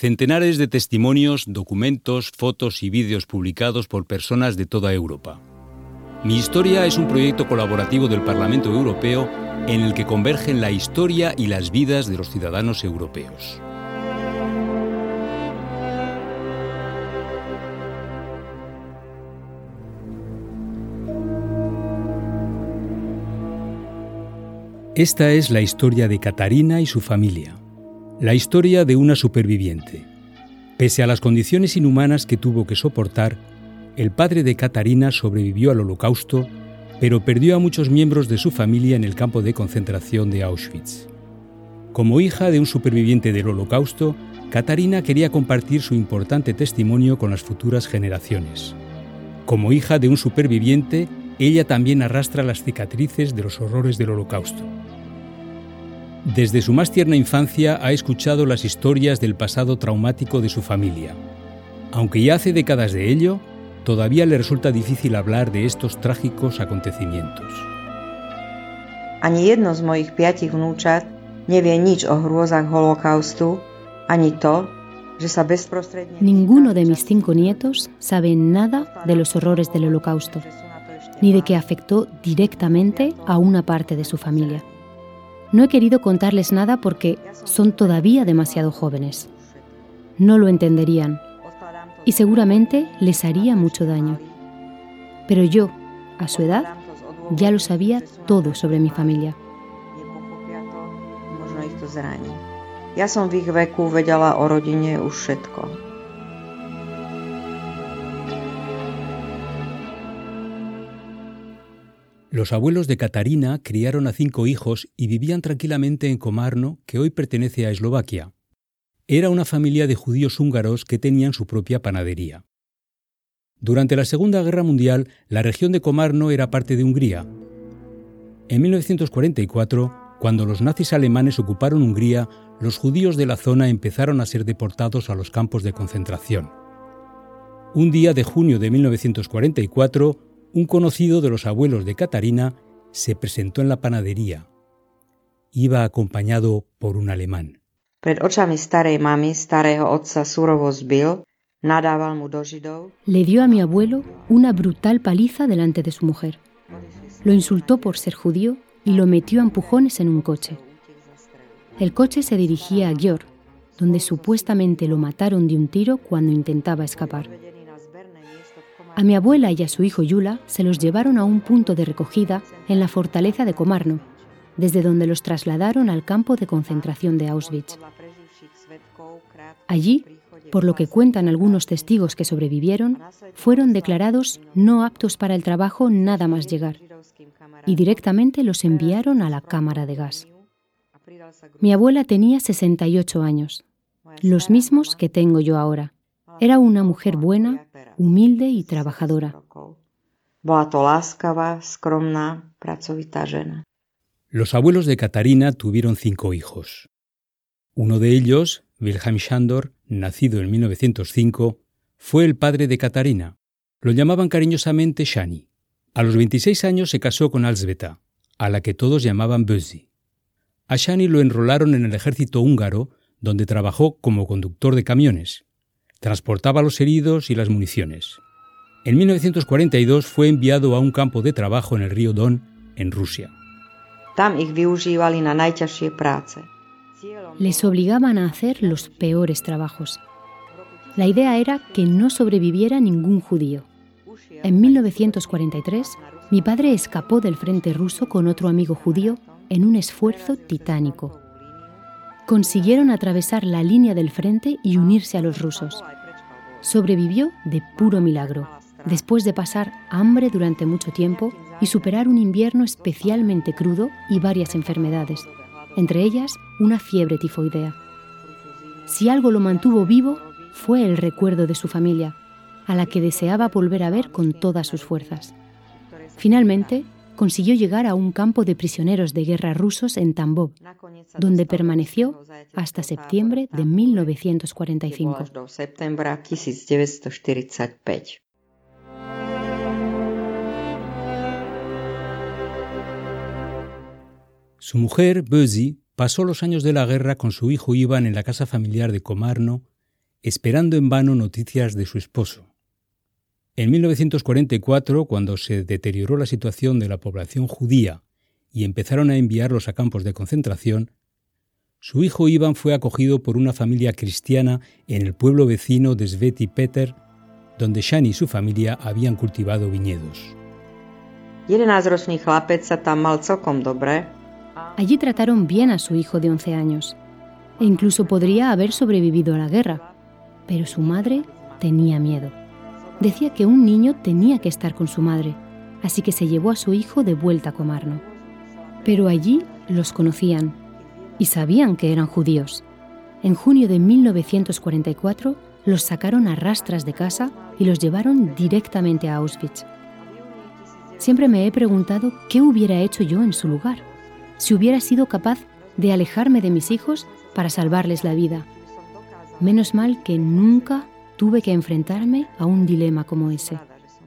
Centenares de testimonios, documentos, fotos y vídeos publicados por personas de toda Europa. Mi historia es un proyecto colaborativo del Parlamento Europeo en el que convergen la historia y las vidas de los ciudadanos europeos. Esta es la historia de Katarina y su familia. La historia de una superviviente. Pese a las condiciones inhumanas que tuvo que soportar, el padre de Katarina sobrevivió al Holocausto, pero perdió a muchos miembros de su familia en el campo de concentración de Auschwitz. Como hija de un superviviente del Holocausto, Katarina quería compartir su importante testimonio con las futuras generaciones. Como hija de un superviviente, ella también arrastra las cicatrices de los horrores del Holocausto. Desde su más tierna infancia ha escuchado las historias del pasado traumático de su familia. Aunque ya hace décadas de ello, todavía le resulta difícil hablar de estos trágicos acontecimientos. Ani jedno z mojich 5 vnúčat nevie nič o hrôzach holokaustu, ani to, že sa bezprostredne... Ninguno de mis 5 nietos sabe nada de los horrores del Holocausto, ni de que afectó directamente a una parte de su familia. No he querido contarles nada porque son todavía demasiado jóvenes. No lo entenderían y seguramente les haría mucho daño. Pero yo, a su edad, ya lo sabía todo sobre mi familia. Ja som v ich veku vedela o rodine už všetko. Los abuelos de Katarina criaron a 5 hijos y vivían tranquilamente en Komárno, que hoy pertenece a Eslovaquia. Era una familia de judíos húngaros que tenían su propia panadería. Durante la Segunda Guerra Mundial, la región de Komárno era parte de Hungría. En 1944, cuando los nazis alemanes ocuparon Hungría, los judíos de la zona empezaron a ser deportados a los campos de concentración. Un día de junio de 1944, un conocido de los abuelos de Katarina se presentó en la panadería. Iba acompañado por un alemán. Pred očami starej mamy, starého otca surovo zbil, nadával mu do Židov. Le dio a mi abuelo una brutal paliza delante de su mujer. Lo insultó por ser judío y lo metió a empujones en un coche. El coche se dirigía a Győr, donde supuestamente lo mataron de un tiro cuando intentaba escapar. A mi abuela y a su hijo Jula se los llevaron a un punto de recogida en la fortaleza de Komárno, desde donde los trasladaron al campo de concentración de Auschwitz. Allí, por lo que cuentan algunos testigos que sobrevivieron, fueron declarados no aptos para el trabajo nada más llegar, y directamente los enviaron a la cámara de gas. Mi abuela tenía 68 años, los mismos que tengo yo ahora. Era una mujer buena, humilde y trabajadora. Los abuelos de Katarina tuvieron 5 hijos. Uno de ellos, Wilhelm Sándor, nacido en 1905, fue el padre de Katarina. Lo llamaban cariñosamente Shani. A los 26 años se casó con Alzbeta, a la que todos llamaban Bözi. A Shani lo enrolaron en el ejército húngaro, donde trabajó como conductor de camiones. Transportaba los heridos y las municiones. En 1942 fue enviado a un campo de trabajo en el río Don, en Rusia. Les obligaban a hacer los peores trabajos. La idea era que no sobreviviera ningún judío. En 1943, mi padre escapó del frente ruso con otro amigo judío en un esfuerzo titánico. Consiguieron atravesar la línea del frente y unirse a los rusos. Sobrevivió de puro milagro, después de pasar hambre durante mucho tiempo y superar un invierno especialmente crudo y varias enfermedades, entre ellas una fiebre tifoidea. Si algo lo mantuvo vivo, fue el recuerdo de su familia, a la que deseaba volver a ver con todas sus fuerzas. Finalmente, consiguió llegar a un campo de prisioneros de guerra rusos en Tambov, donde permaneció hasta septiembre de 1945. Su mujer, Bözi, pasó los años de la guerra con su hijo Iván en la casa familiar de Komárno esperando en vano noticias de su esposo. En 1944, cuando se deterioró la situación de la población judía y empezaron a enviarlos a campos de concentración, su hijo Iván fue acogido por una familia cristiana en el pueblo vecino de Svetý Peter, donde Shani y su familia habían cultivado viñedos. 11-ročný chlapec sa tam mal celkom dobre. Allí trataron bien a su hijo de 11 años e incluso podría haber sobrevivido a la guerra, pero su madre tenía miedo. Decía que un niño tenía que estar con su madre, así que se llevó a su hijo de vuelta a Komárno. Pero allí los conocían y sabían que eran judíos. En junio de 1944 los sacaron a rastras de casa y los llevaron directamente a Auschwitz. Siempre me he preguntado qué hubiera hecho yo en su lugar, si hubiera sido capaz de alejarme de mis hijos para salvarles la vida. Menos mal que nunca tuve que enfrentarme a un dilema como ese.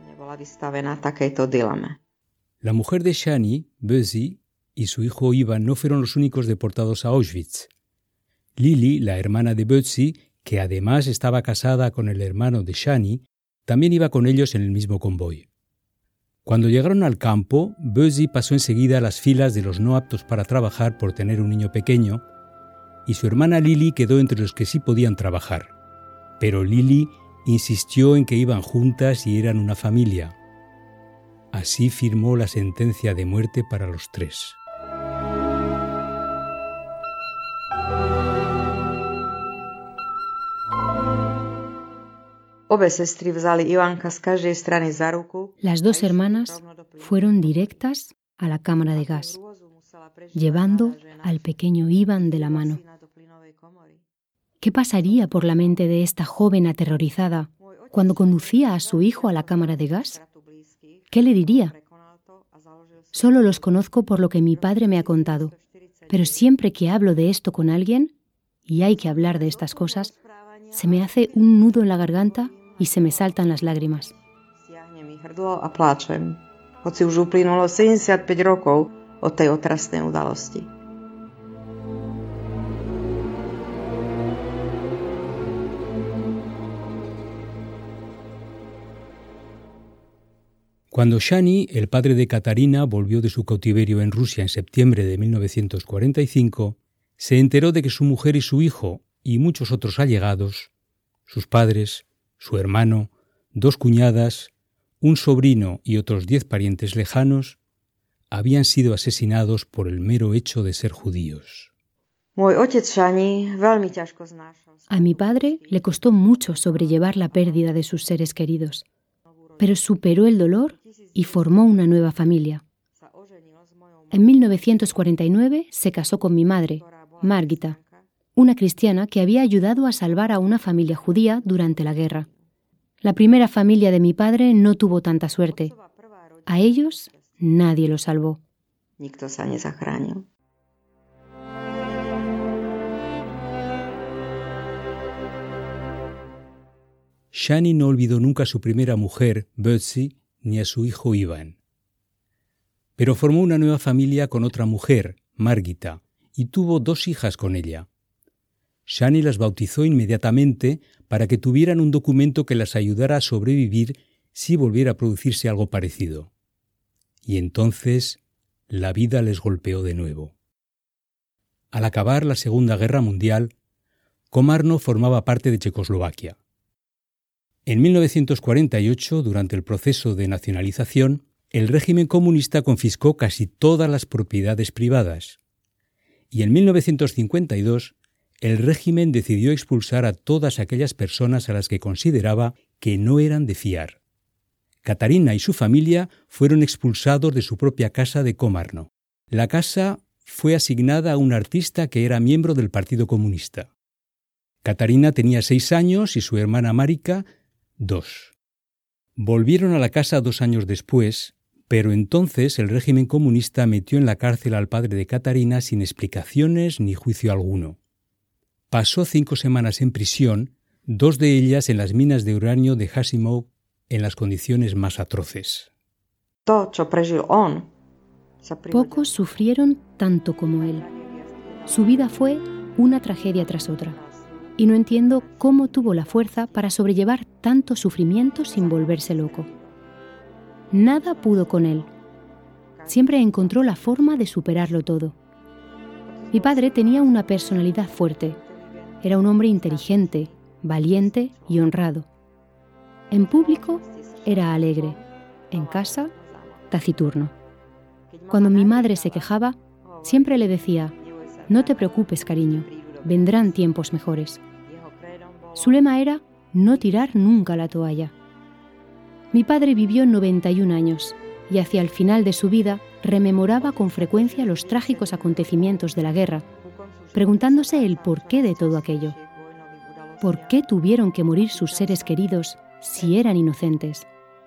La mujer de Shani, Bösi, y su hijo Iván no fueron los únicos deportados a Auschwitz. Lili, la hermana de Bösi, que además estaba casada con el hermano de Shani, también iba con ellos en el mismo convoy. Cuando llegaron al campo, Bösi pasó enseguida a las filas de los no aptos para trabajar por tener un niño pequeño, y su hermana Lili quedó entre los que sí podían trabajar. Pero Lili insistió en que iban juntas y eran una familia. Así firmó la sentencia de muerte para los tres. Las dos hermanas fueron directas a la cámara de gas, llevando al pequeño Iván de la mano. ¿Qué pasaría por la mente de esta joven aterrorizada cuando conducía a su hijo a la cámara de gas? ¿Qué le diría? Solo los conozco por lo que mi padre me ha contado, pero siempre que hablo de esto con alguien, y hay que hablar de estas cosas, se me hace un nudo en la garganta y se me saltan las lágrimas. Hoci už uplynulo 75 rokov od tej otrasnej udalosti. Cuando Shani, el padre de Katarina, volvió de su cautiverio en Rusia en septiembre de 1945, se enteró de que su mujer y su hijo, y muchos otros allegados, sus padres, su hermano, 2 cuñadas, un sobrino y otros 10 parientes lejanos, habían sido asesinados por el mero hecho de ser judíos. A mi padre le costó mucho sobrellevar la pérdida de sus seres queridos, pero superó el dolor y formó una nueva familia. En 1949 se casó con mi madre, Margita, una cristiana que había ayudado a salvar a una familia judía durante la guerra. La primera familia de mi padre no tuvo tanta suerte. A ellos nadie los salvó. Shani no olvidó nunca a su primera mujer, Bösi, ni a su hijo Iván. Pero formó una nueva familia con otra mujer, Margita, y tuvo 2 hijas con ella. Shani las bautizó inmediatamente para que tuvieran un documento que las ayudara a sobrevivir si volviera a producirse algo parecido. Y entonces la vida les golpeó de nuevo. Al acabar la Segunda Guerra Mundial, Komárno formaba parte de Checoslovaquia. En 1948, durante el proceso de nacionalización, el régimen comunista confiscó casi todas las propiedades privadas. Y en 1952, el régimen decidió expulsar a todas aquellas personas a las que consideraba que no eran de fiar. Katarina y su familia fueron expulsados de su propia casa de Komárno. La casa fue asignada a un artista que era miembro del Partido Comunista. Katarina tenía 6 años y su hermana Marika 2. Volvieron a la casa 2 años después, pero entonces el régimen comunista metió en la cárcel al padre de Katarina sin explicaciones ni juicio alguno. Pasó 5 semanas en prisión, 2 de ellas en las minas de uranio de Hasimov, en las condiciones más atroces. Pocos sufrieron tanto como él. Su vida fue una tragedia tras otra. y no entiendo cómo tuvo la fuerza para sobrellevar tanto sufrimiento sin volverse loco. Nada pudo con él. Siempre encontró la forma de superarlo todo. Mi padre tenía una personalidad fuerte. Era un hombre inteligente, valiente y honrado. En público era alegre, en casa taciturno. Cuando mi madre se quejaba, siempre le decía: «No te preocupes, cariño, vendrán tiempos mejores». Su lema era no tirar nunca la toalla. Mi padre vivió 91 años y hacia el final de su vida rememoraba con frecuencia los trágicos acontecimientos de la guerra, preguntándose el porqué de todo aquello. ¿Por qué tuvieron que morir sus seres queridos si eran inocentes?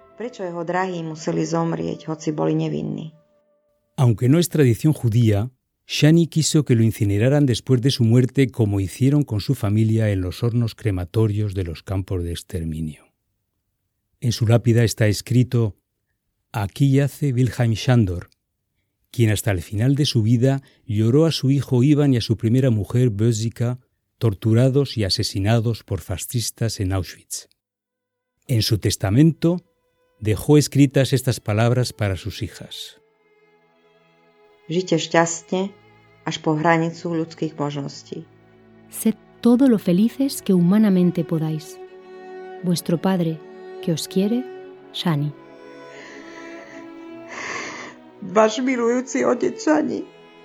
Aunque no es tradición judía, Shani quiso que lo incineraran después de su muerte, como hicieron con su familia en los hornos crematorios de los campos de exterminio. En su lápida está escrito: «Aquí yace Wilhelm Schandor, quien hasta el final de su vida lloró a su hijo Ivan y a su primera mujer Bösika, torturados y asesinados por fascistas en Auschwitz». En su testamento dejó escritas estas palabras para sus hijas: «Žite šťastne až po hranicu ľudských možností. Sed todo lo felices que humanamente podáis. Vuestro padre, que os quiere, Shani». Váš milujúci otec Shani.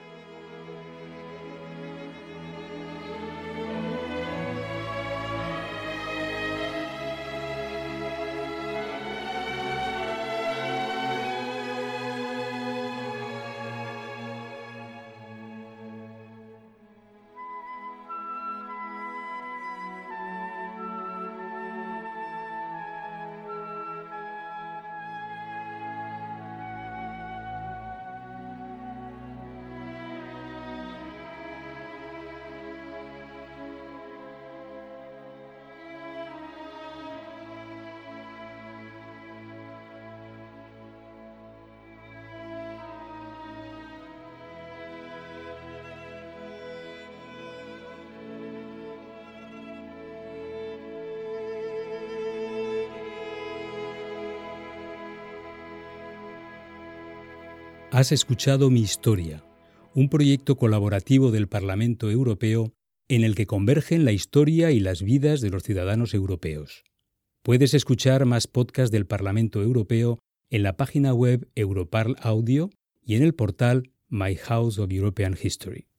Has escuchado Mi Historia, un proyecto colaborativo del Parlamento Europeo en el que convergen la historia y las vidas de los ciudadanos europeos. Puedes escuchar más podcasts del Parlamento Europeo en la página web Europarl Audio y en el portal My House of European History.